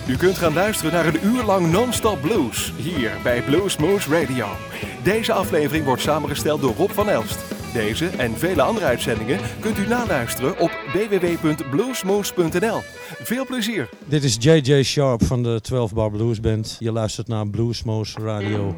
U kunt gaan luisteren naar een uur lang non-stop blues, hier bij Bluesmoose Radio. Deze aflevering wordt samengesteld door Rob van Elst. Deze en vele andere uitzendingen kunt u naluisteren op www.bluesmoose.nl. Veel plezier! Dit is J.J. Sharp van de 12 Bar Blues Band. Je luistert naar Bluesmoose Radio.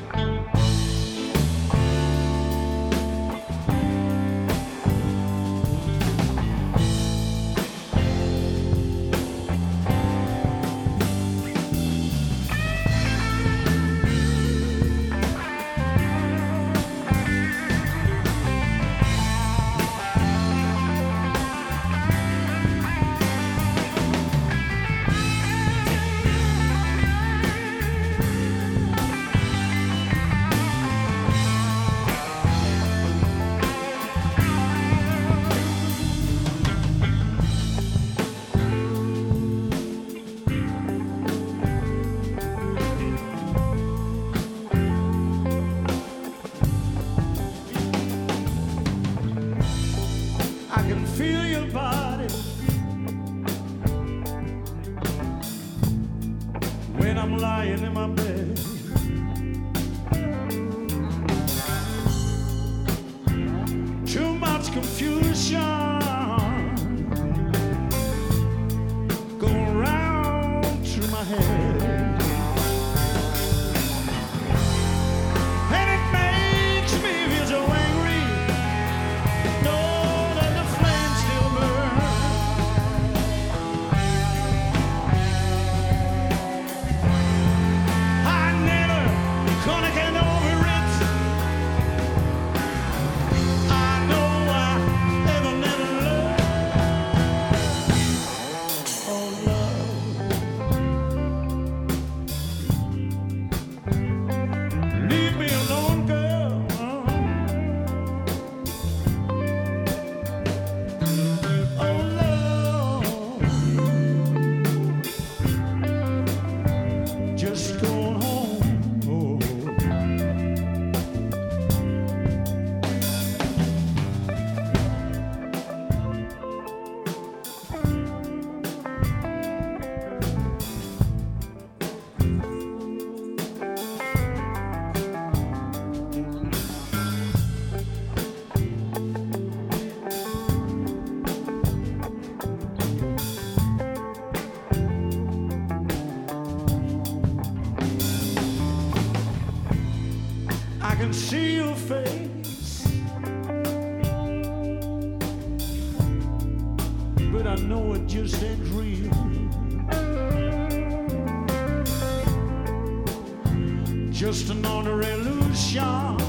Just another illusion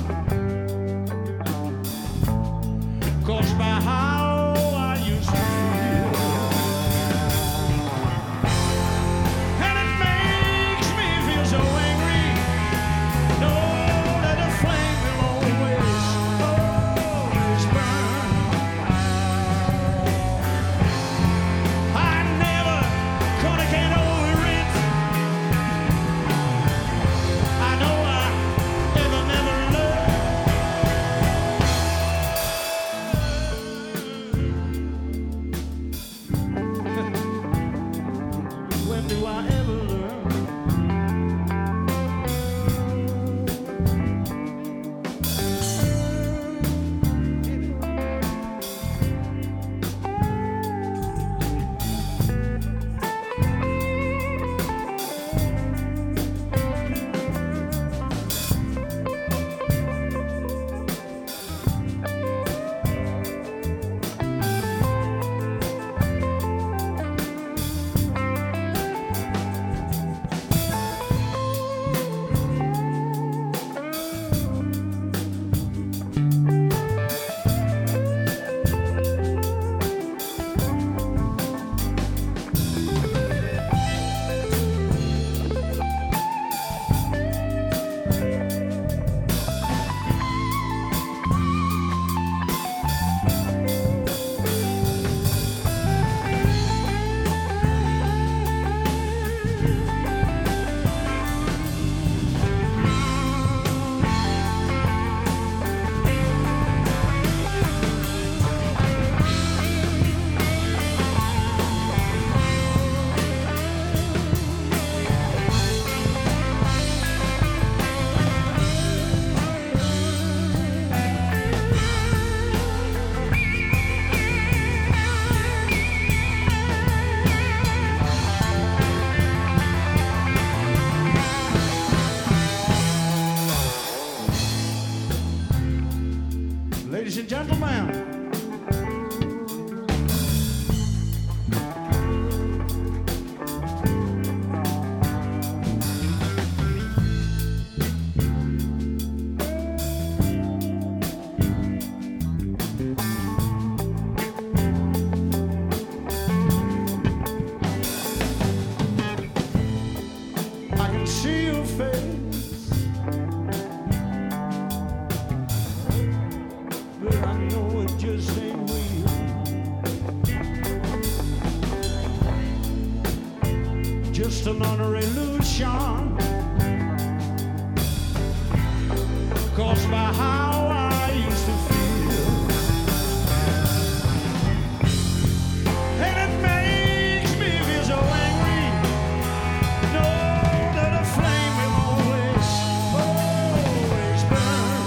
caused by how I used to feel, and it makes me feel so angry. Know that the flame will always burn. I never gonna get over it. I know I never learned. just another illusion caused by how I used to feel. And it makes me feel so angry. Know that a flame will always, always burn.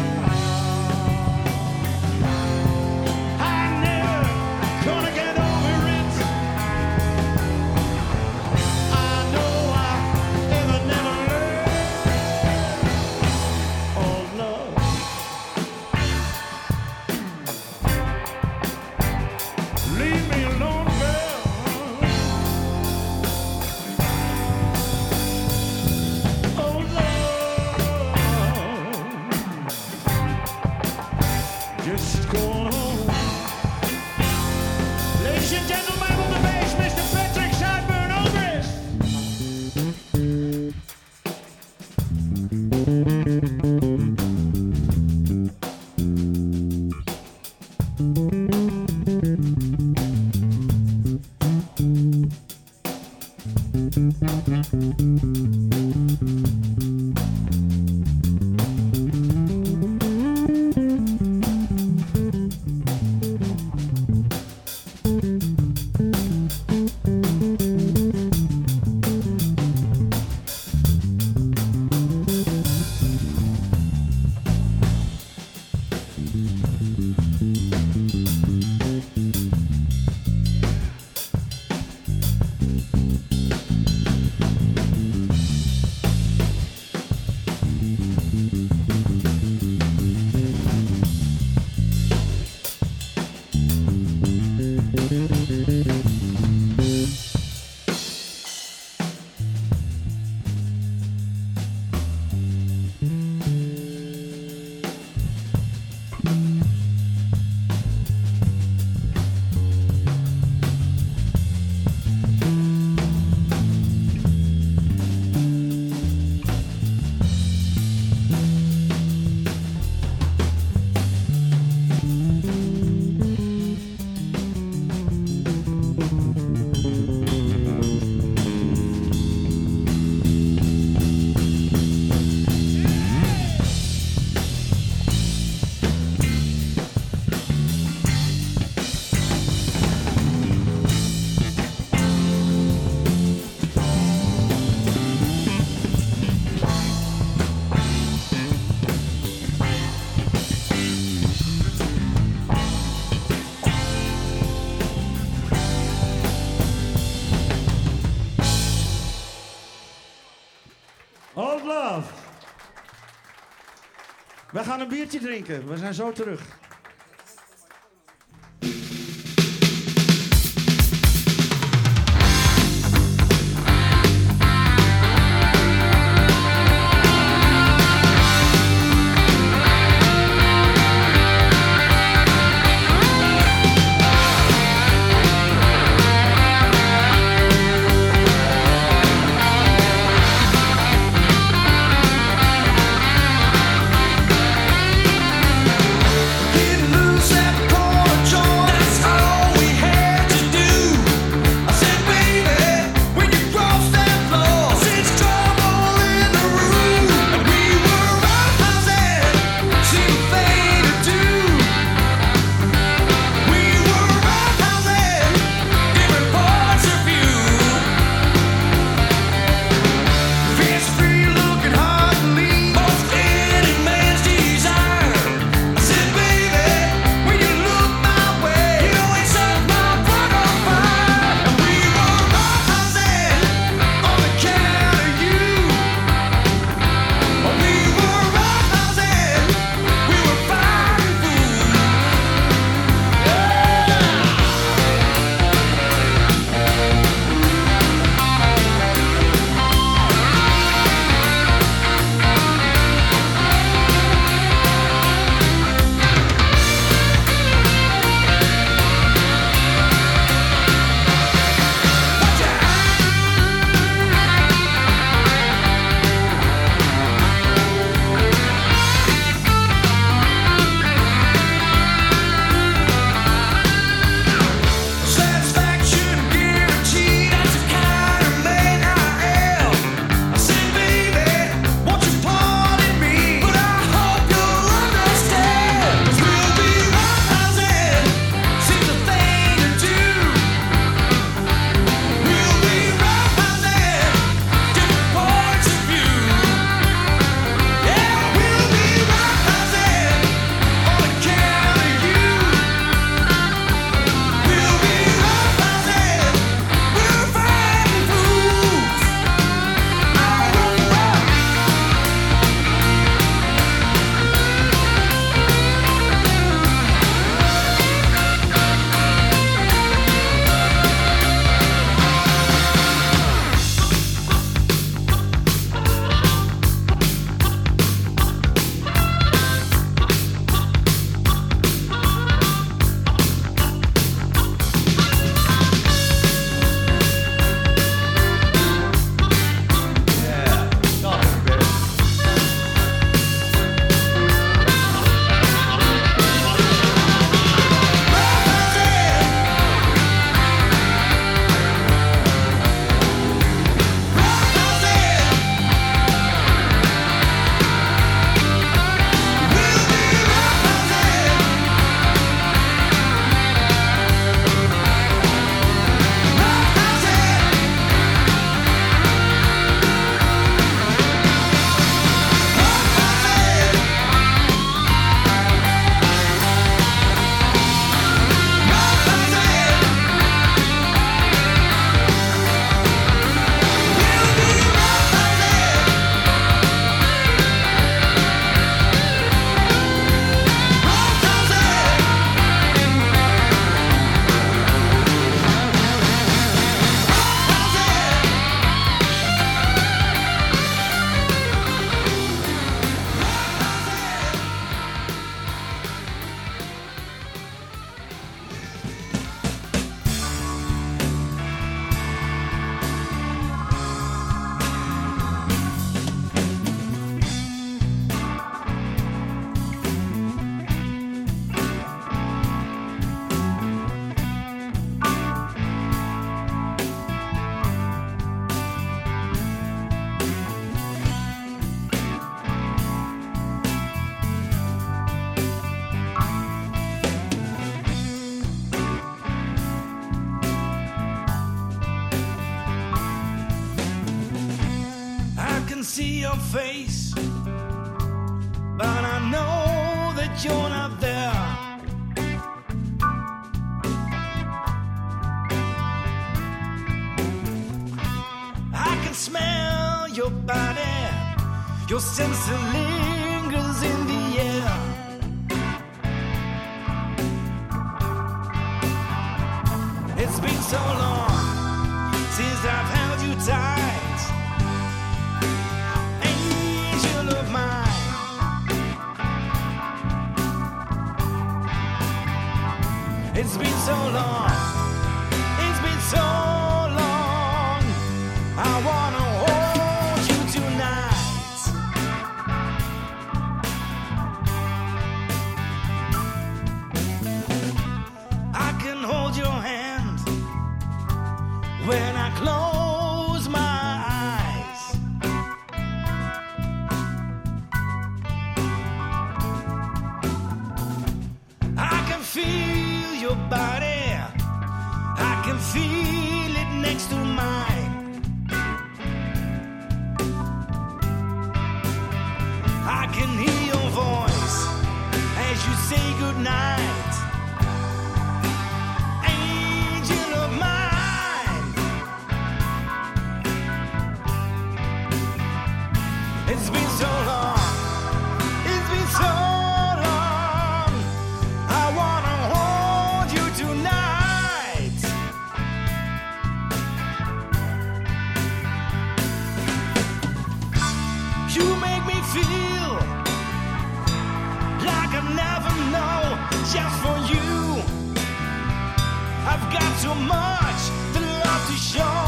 I'm never gonna get over it. I know I never learn. Oh, love. Leave me alone, girl. Oh, love. Just go on home. Ladies and gentlemen, on the bass, Mr. Patrick Sideburn Obrist. Old Love. We gaan een biertje drinken. We zijn zo terug. Keep see your face, but I know that you're not there. I can smell your body, your sense lingers in the air. It's been so long since I've held you tight, angel of mine. It's been so long, it's been so long. I wanna hold you tonight. I can hold your hand when I close my eyes. I can feel your body, I can feel it next to mine. I can hear your voice as you say goodnight. Angel of mine. It's been so long, it's been so long. I wanna hold you tonight. You make me feel like I never know, just for you. I've got so much to love to show.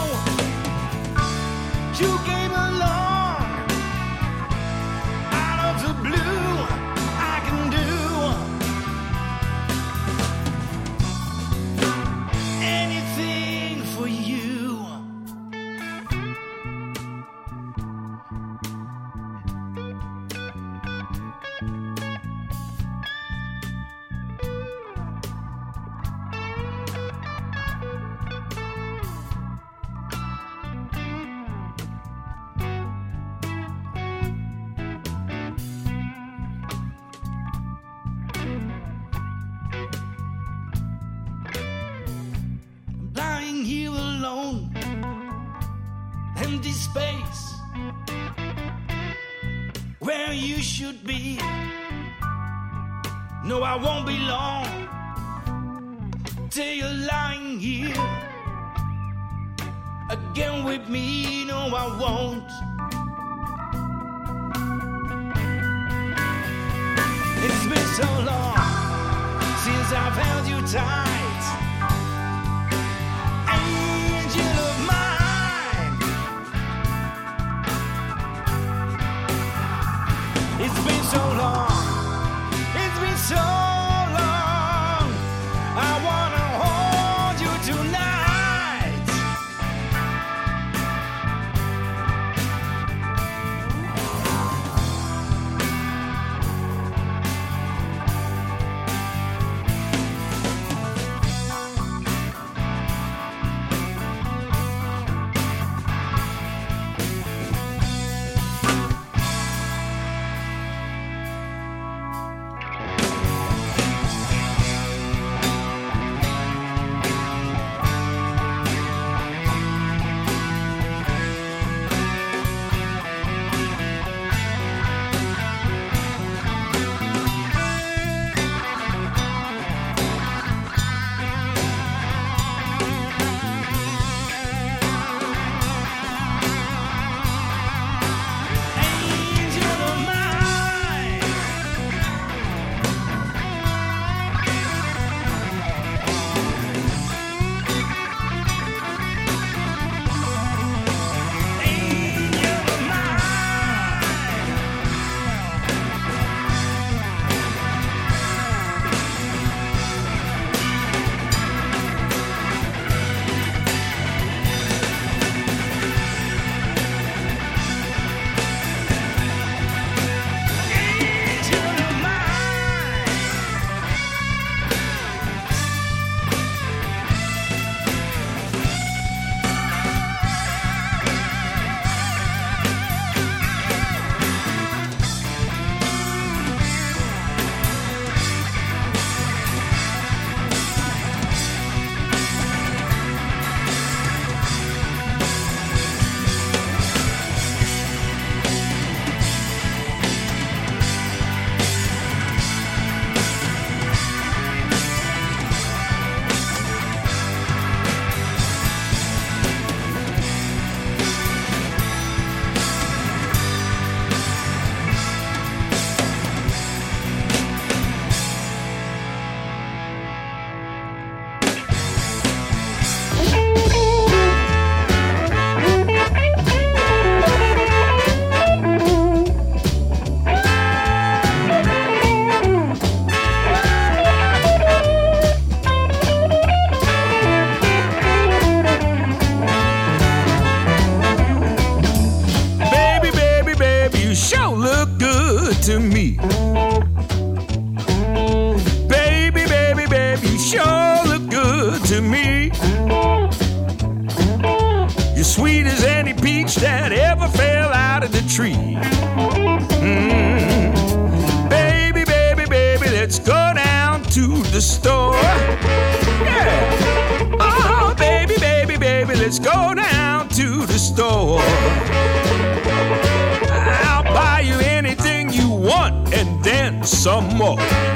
You came along out of the blue. I can do anything for you. Lying here alone, empty space, where you should be. No, I won't be long till you're lying here again with me. No, I won't. It's been so long since I've held you tight. Angel of mine. It's been so long, it's been so long. I wanna hold you tonight. to me. You're sweet as any peach that ever fell out of the tree. Baby, baby, baby, let's go down to the store. Yeah. Oh, baby, baby, baby, let's go down to the store. I'll buy you anything you want and then some more.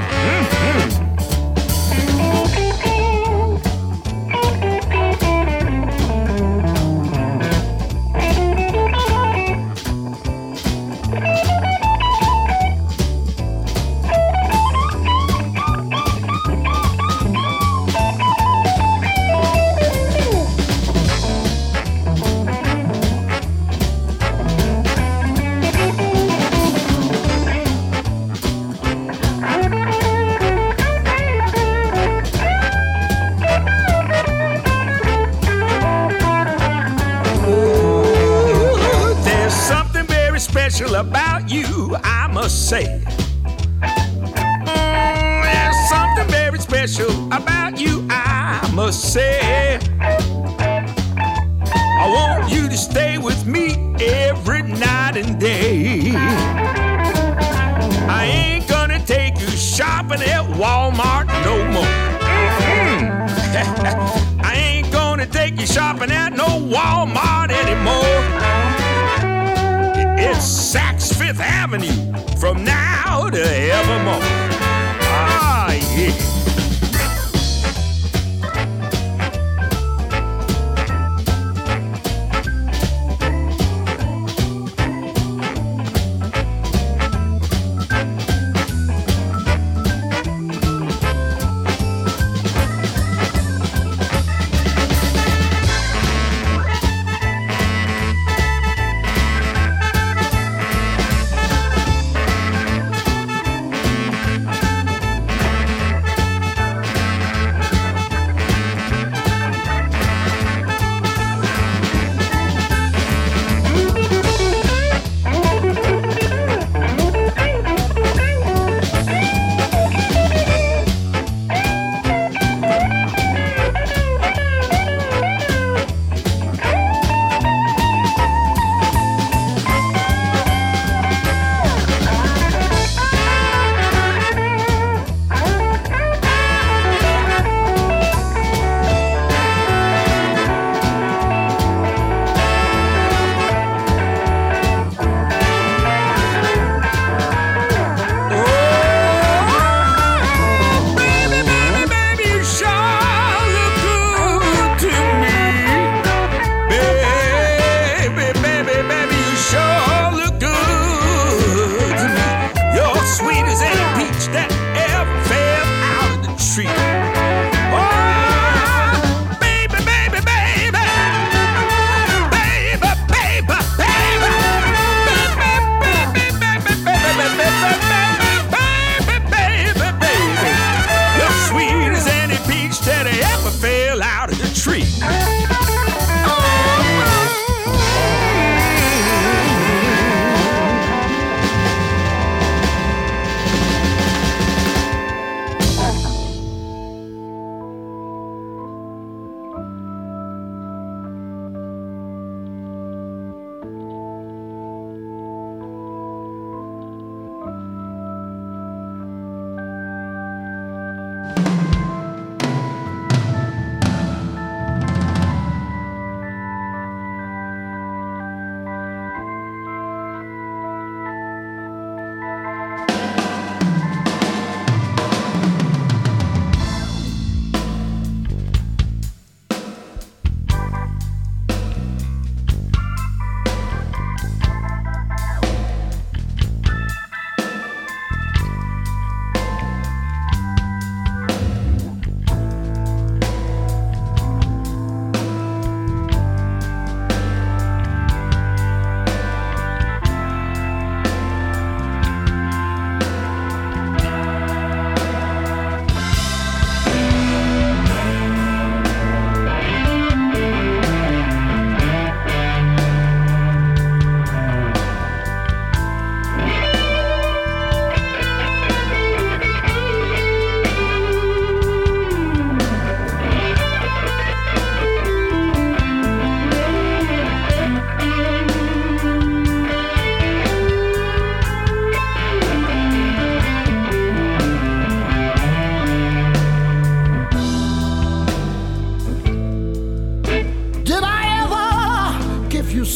About you, I must say. There's something very special about you, I must say. I want you to stay with me every night and day. I ain't gonna take you shopping at Walmart no more. I ain't gonna take you shopping at no Walmart anymore. It's Saks Fifth Avenue from now to evermore. Ah, yeah.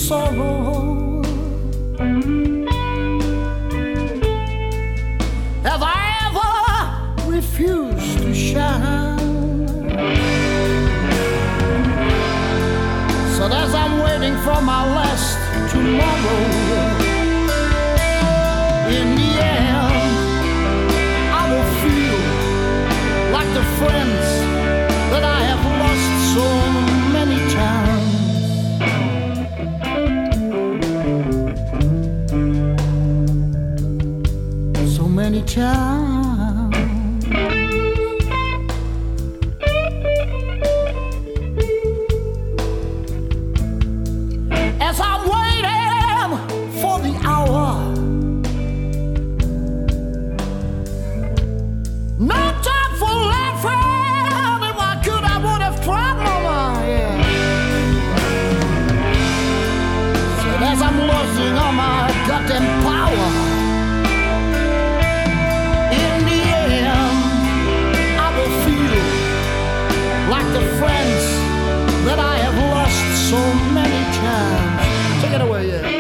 sorrow. Have I ever refused to shine? So as I'm waiting for my last tomorrow, in the end, I will feel like the friends that I have lost so many times. So many times. As I'm waiting for the hour, no time for laughing. If I could, I would have tried, mama, yeah. So as I'm losing all my goddamn power, in the end, I will feel like the friends that I have lost so many times. Take it away, yeah.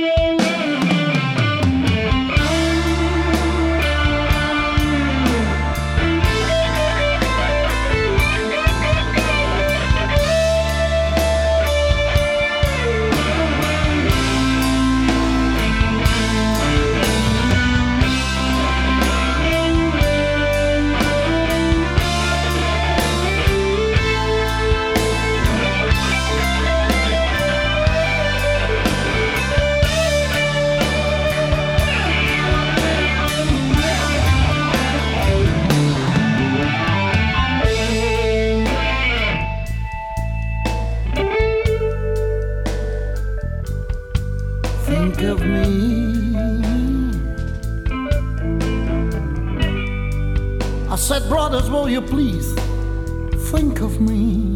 Think of me. I said, brothers, will you please think of me?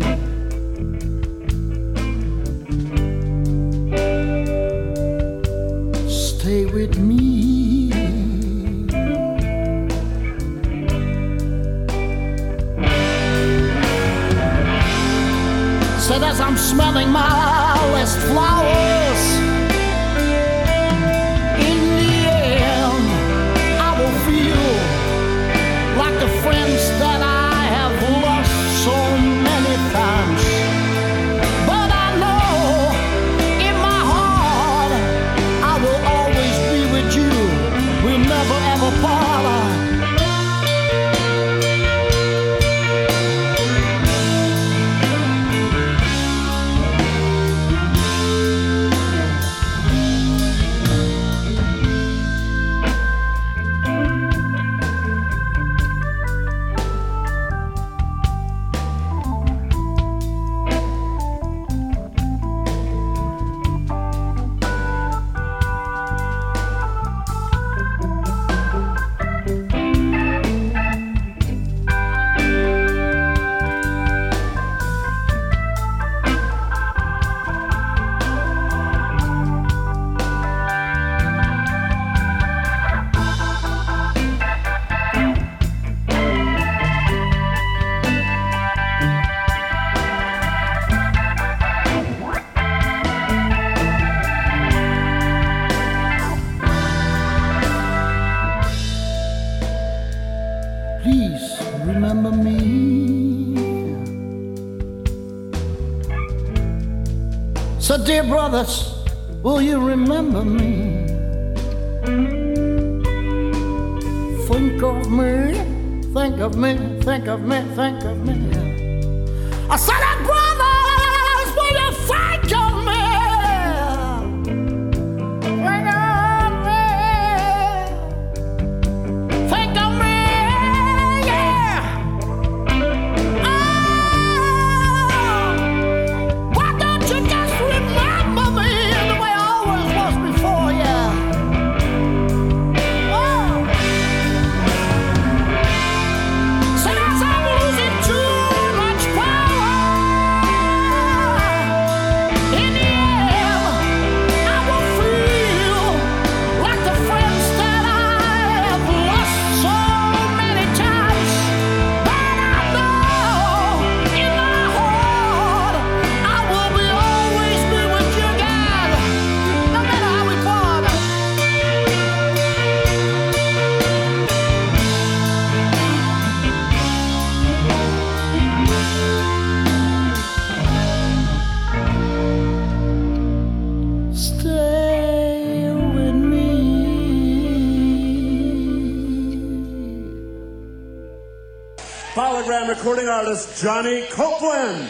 Stay with me. Said as I'm smelling my last flowers, like the friends that I have lost so many times. But I know in my heart I will always be with you. We'll never ever part. Please remember me. So dear brothers, will you remember me? Think of me, think of me, think of me, think of me. I said, brothers, will you think of me? Think of me. Think of me, yeah. Why don't you just remember me the way I always was before, yeah? Said as I'm losing too much power. recording artist Johnny Copeland.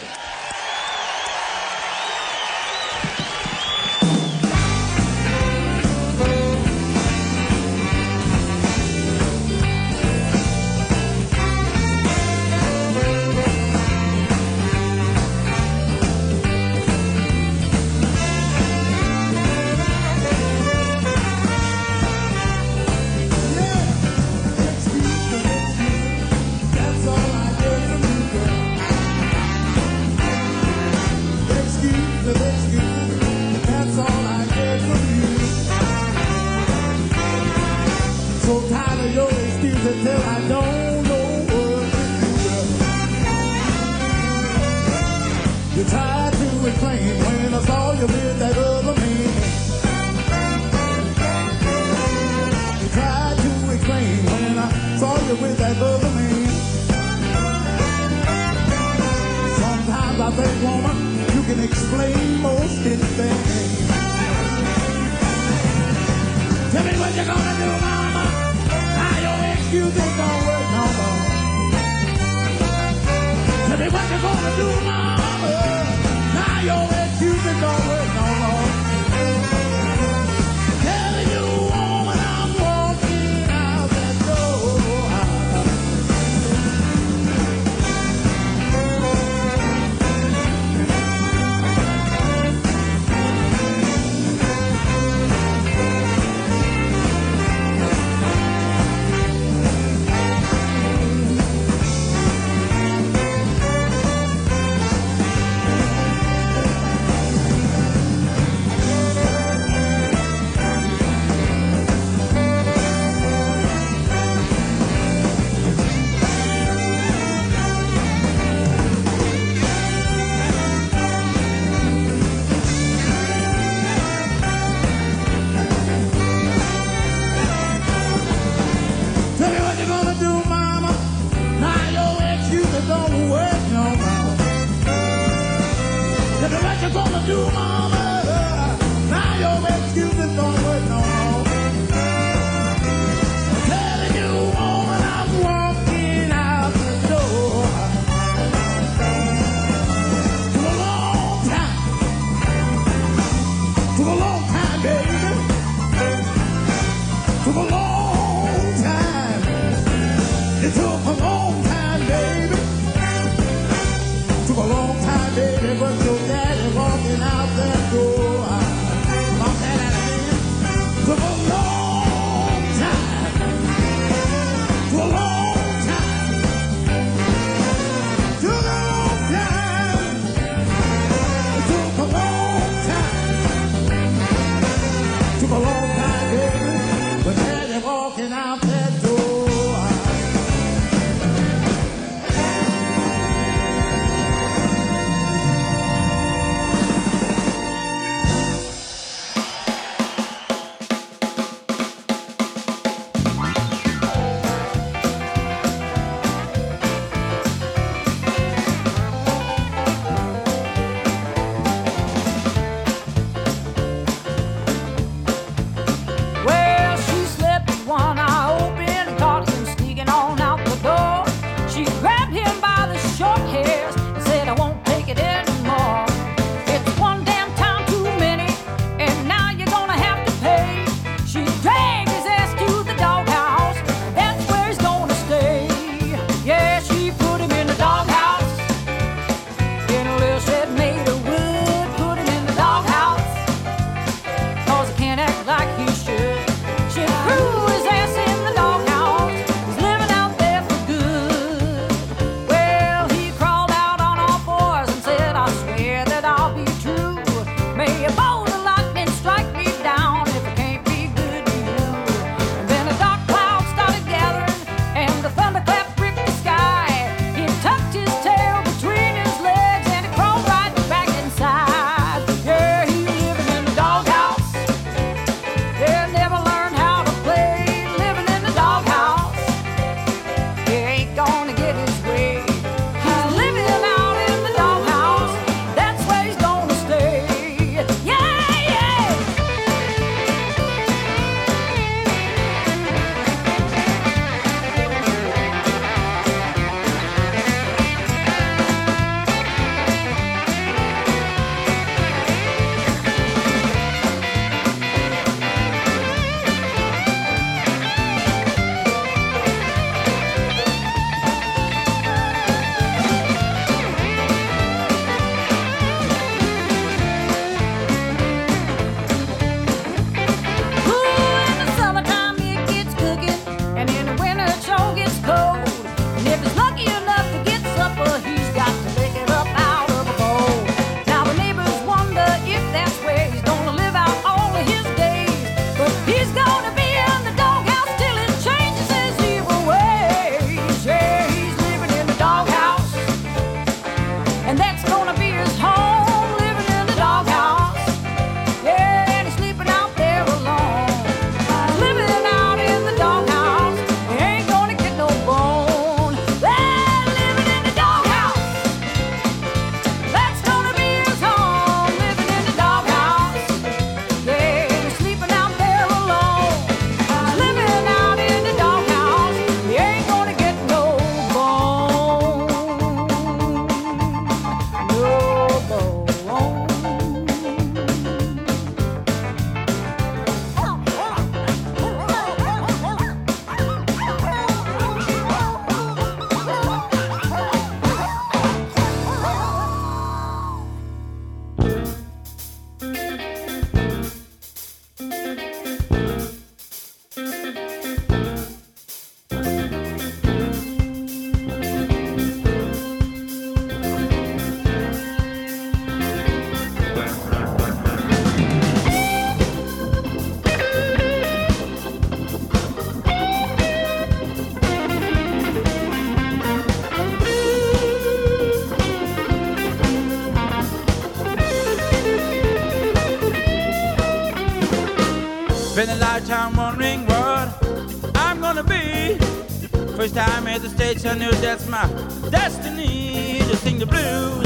time wondering what I'm gonna be. First time at the stage, I knew that's my destiny to sing the blues.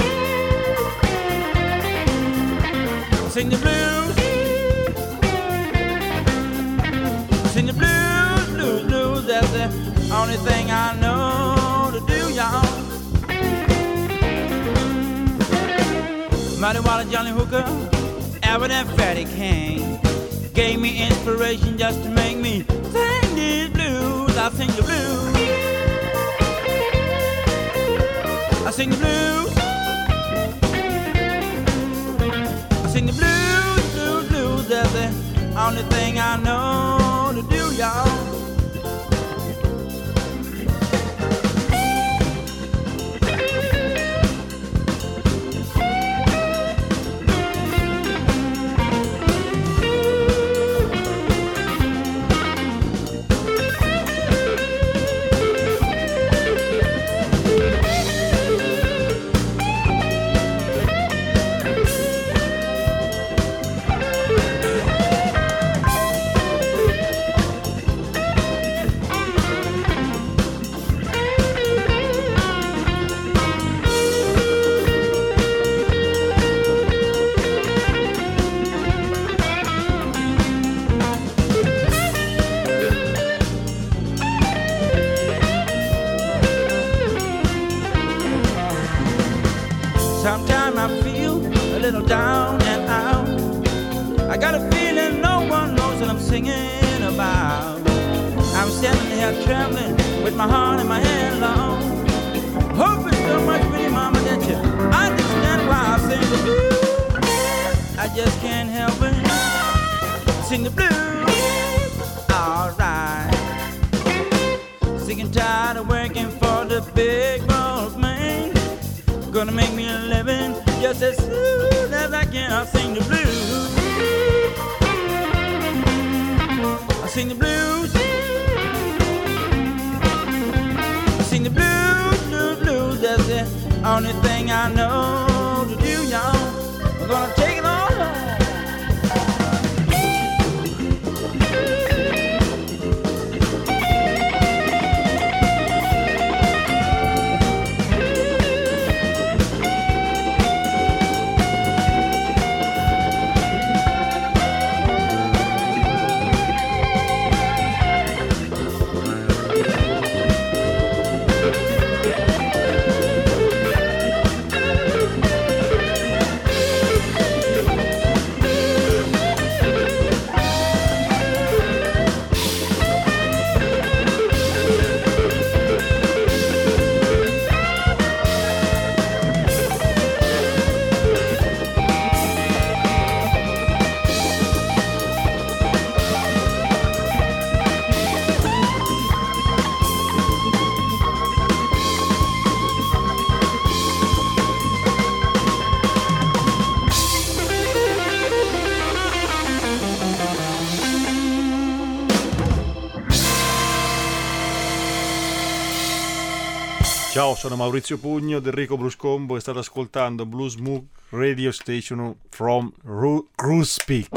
Sing the blues. Sing the blues, blues, blues. That's the only thing I know to do, y'all. Muddy Water, Johnny Hooker, Albert and Fatty King gave me inspiration just to make me sing these blues. I sing the blues. I sing the blues. I sing the blues, blues, blues. That's the only thing I know to do, y'all. Sometimes I feel a little down and out. I got a feeling no one knows what I'm singing about. I'm standing here trembling with my heart in my hand long, hoping so much for you, mama, that you understand why I sing the blues. I just can't help it. Sing the blues. Alright. Sick and tired of working for the big boss man. Gonna make me a living just as soon as I can. I'll sing the blues. I sing the blues. I sing the blues, blues, blues. That's the only thing I know to do, y'all. We're gonna take it all home. Ciao, sono Maurizio Pugno del Rico Blues Combo e state ascoltando Blues Moog Radio Station from Cruise Peak.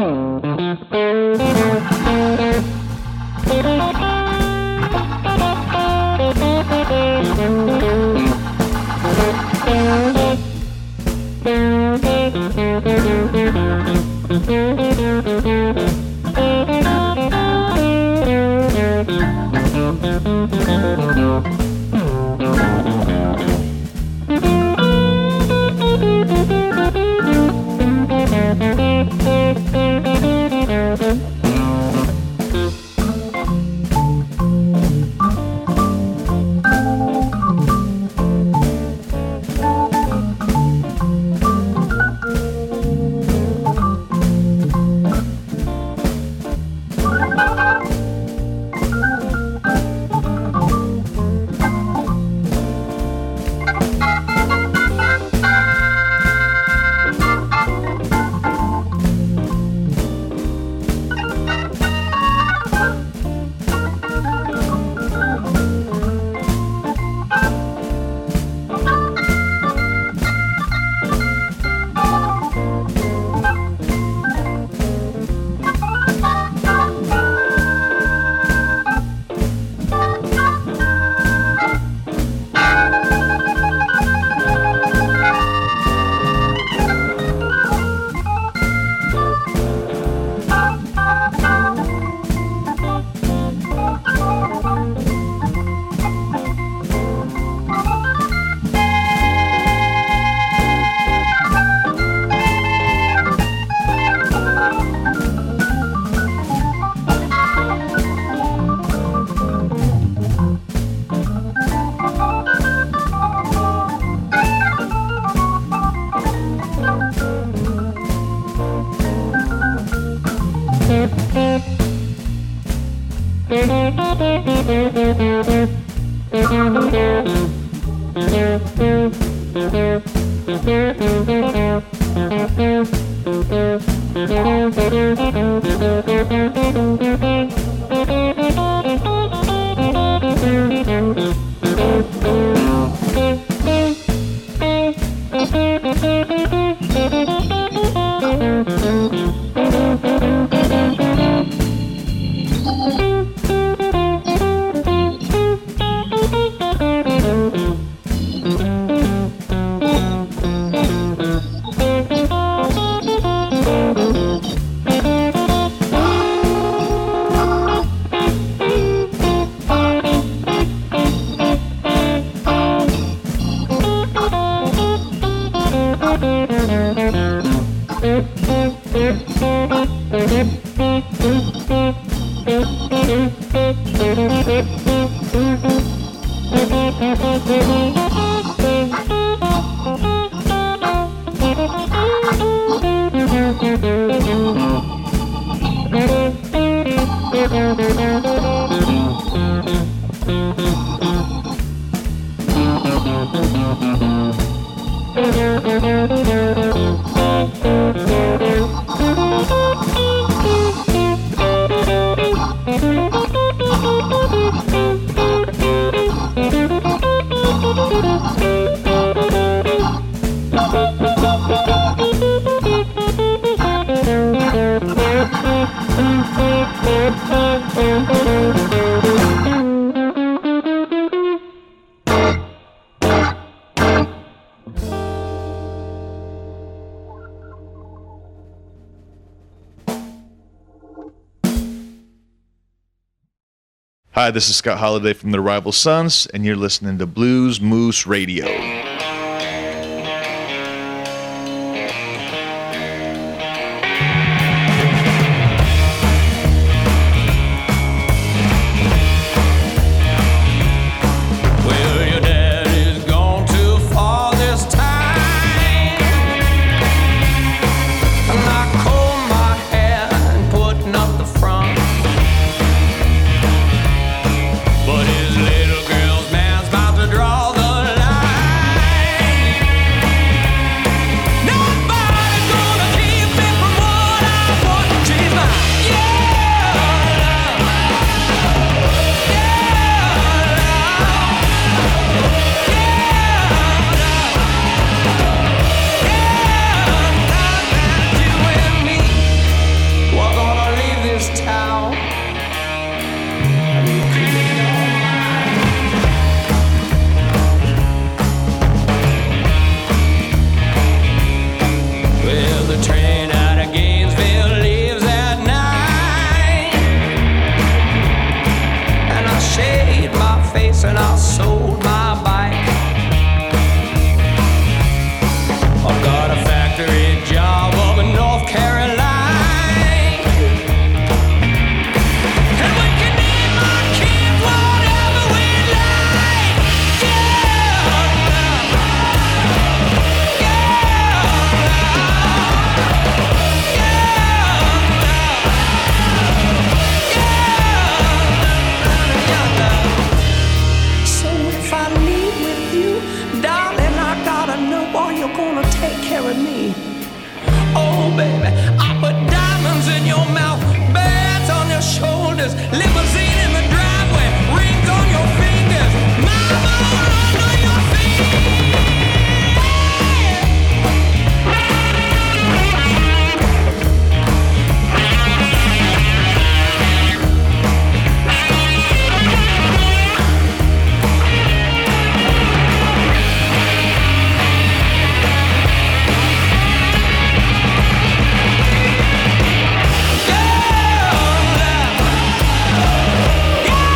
Hi, this is Scott Holiday from the Rival Sons, and you're listening to Blues Moose Radio. Yeah!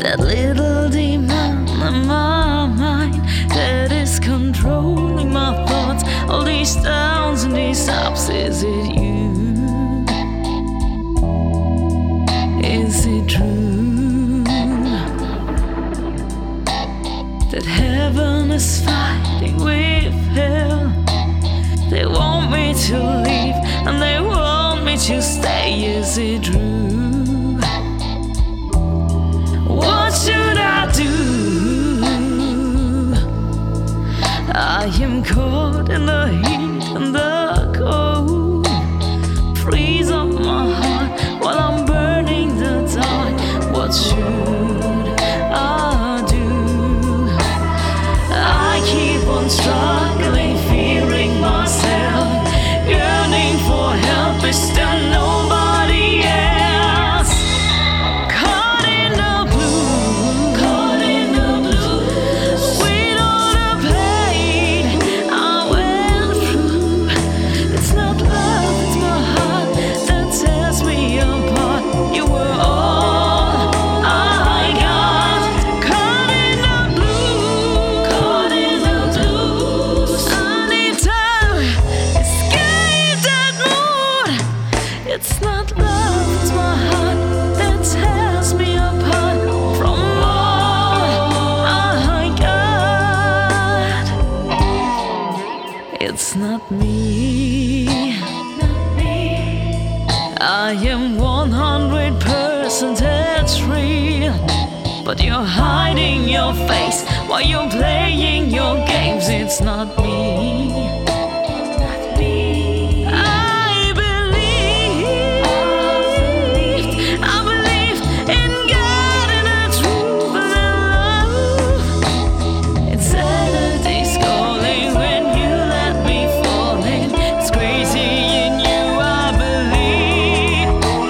that little demon in my mind that is controlling my thoughts. All these downs and these ups, is it you? Is it true that heaven is fighting with hell? They want me to leave and they want me to stay. Is it true? What should I do? I am caught in the heat and the cold. Freeze up my heart while I'm burning the dark. What should I do? I keep on struggling, fearing myself, yearning for help. Is there nobody else? Caught in the blue, caught in the blue, with all the pain I went through. It's not love, it's my heart that tears me apart. You were all I got. Caught in the blue, caught in the blues. I need time, escape that mood. It's not love, it's my heart that tears me apart from all I got. It's not me. I am 100% real, but you're hiding your face while you're playing your games. It's not me. I believed in God and the truth and the love. Insanity's calling when you let me fall in. It's crazy in you, I believe.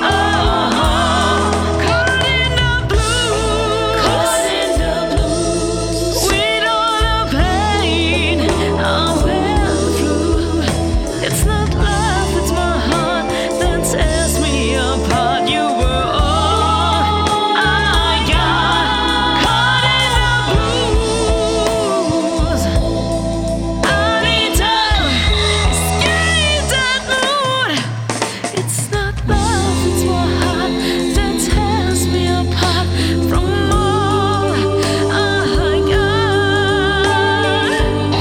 Caught in the blues, caught in the blues, with all the pain I went through. It's not love, it's my heart that tears me apart. You were all I got. Caught in the blues. I need time, escape that mood. It's not love, it's my heart that tears me apart from all I got.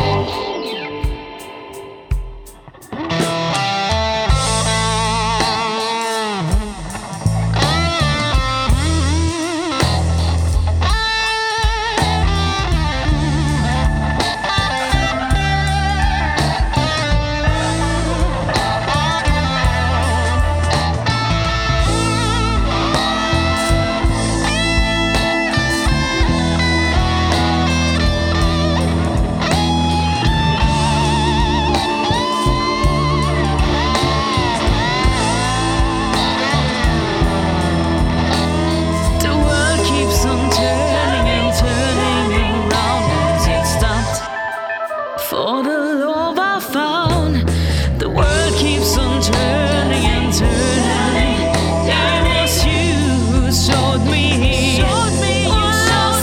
The world keeps on turning and turning around. Has it stopped for the love I found? The world keeps on turning and turning. It was you who showed me what love's all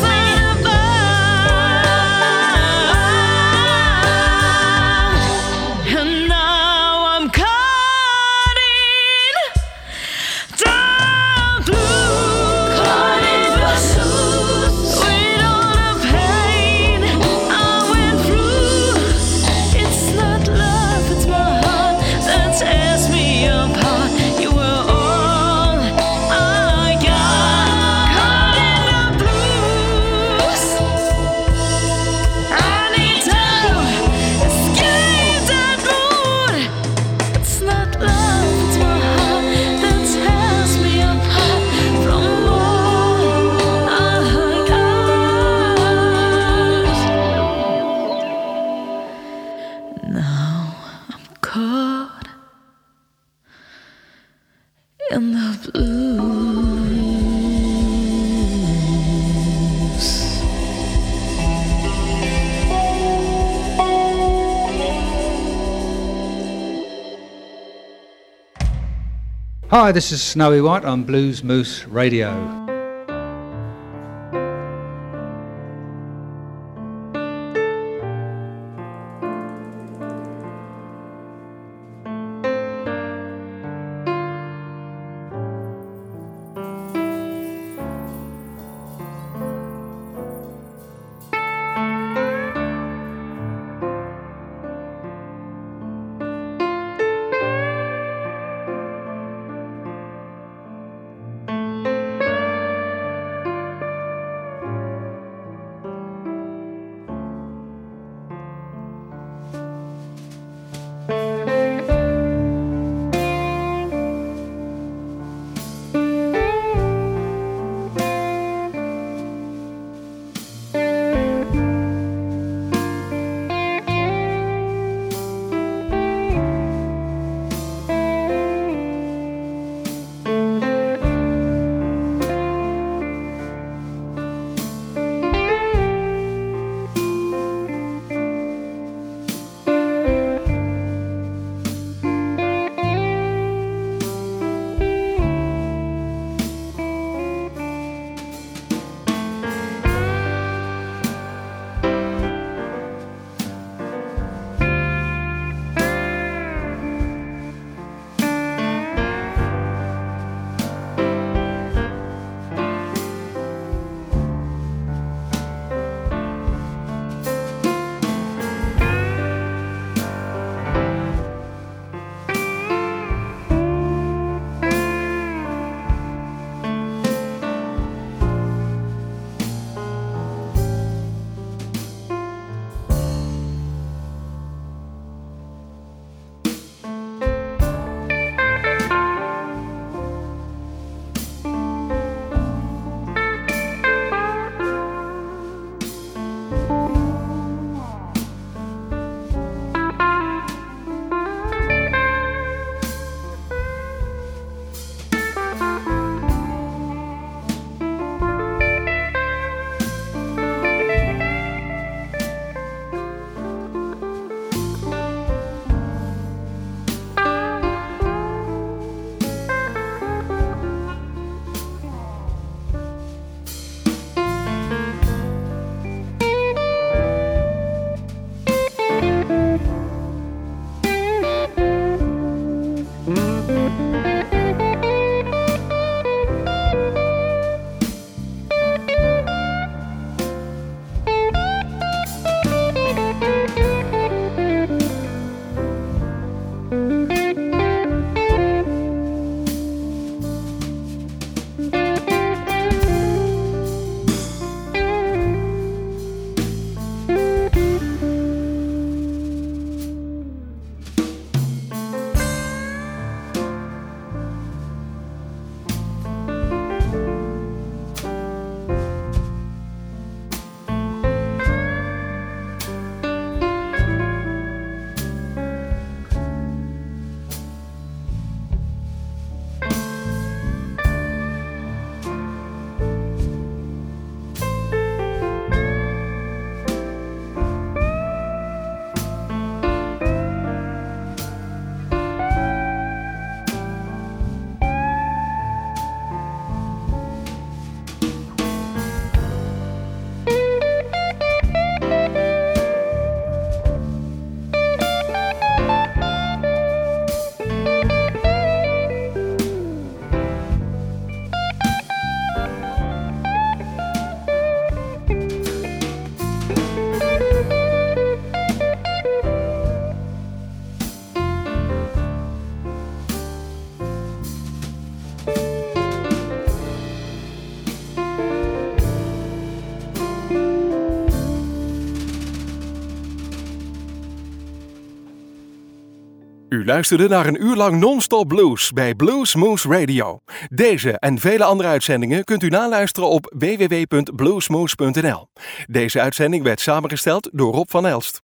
about. And now I'm caught in the blue, caught in the blues, with all the pain I went through. It's not love, it's my heart that tears me apart. You were all I got. Caught in the blues. I need time, escape that mood. It's not love, it's my heart that tears me apart from all I got. Now I'm caught in the blues. Hi, this is Snowy White on Blues Moose Radio. U luisterde naar een uur lang non-stop blues bij Blues Moose Radio. Deze en vele andere uitzendingen kunt u naluisteren op www.bluesmoose.nl. Deze uitzending werd samengesteld door Rob van Elst.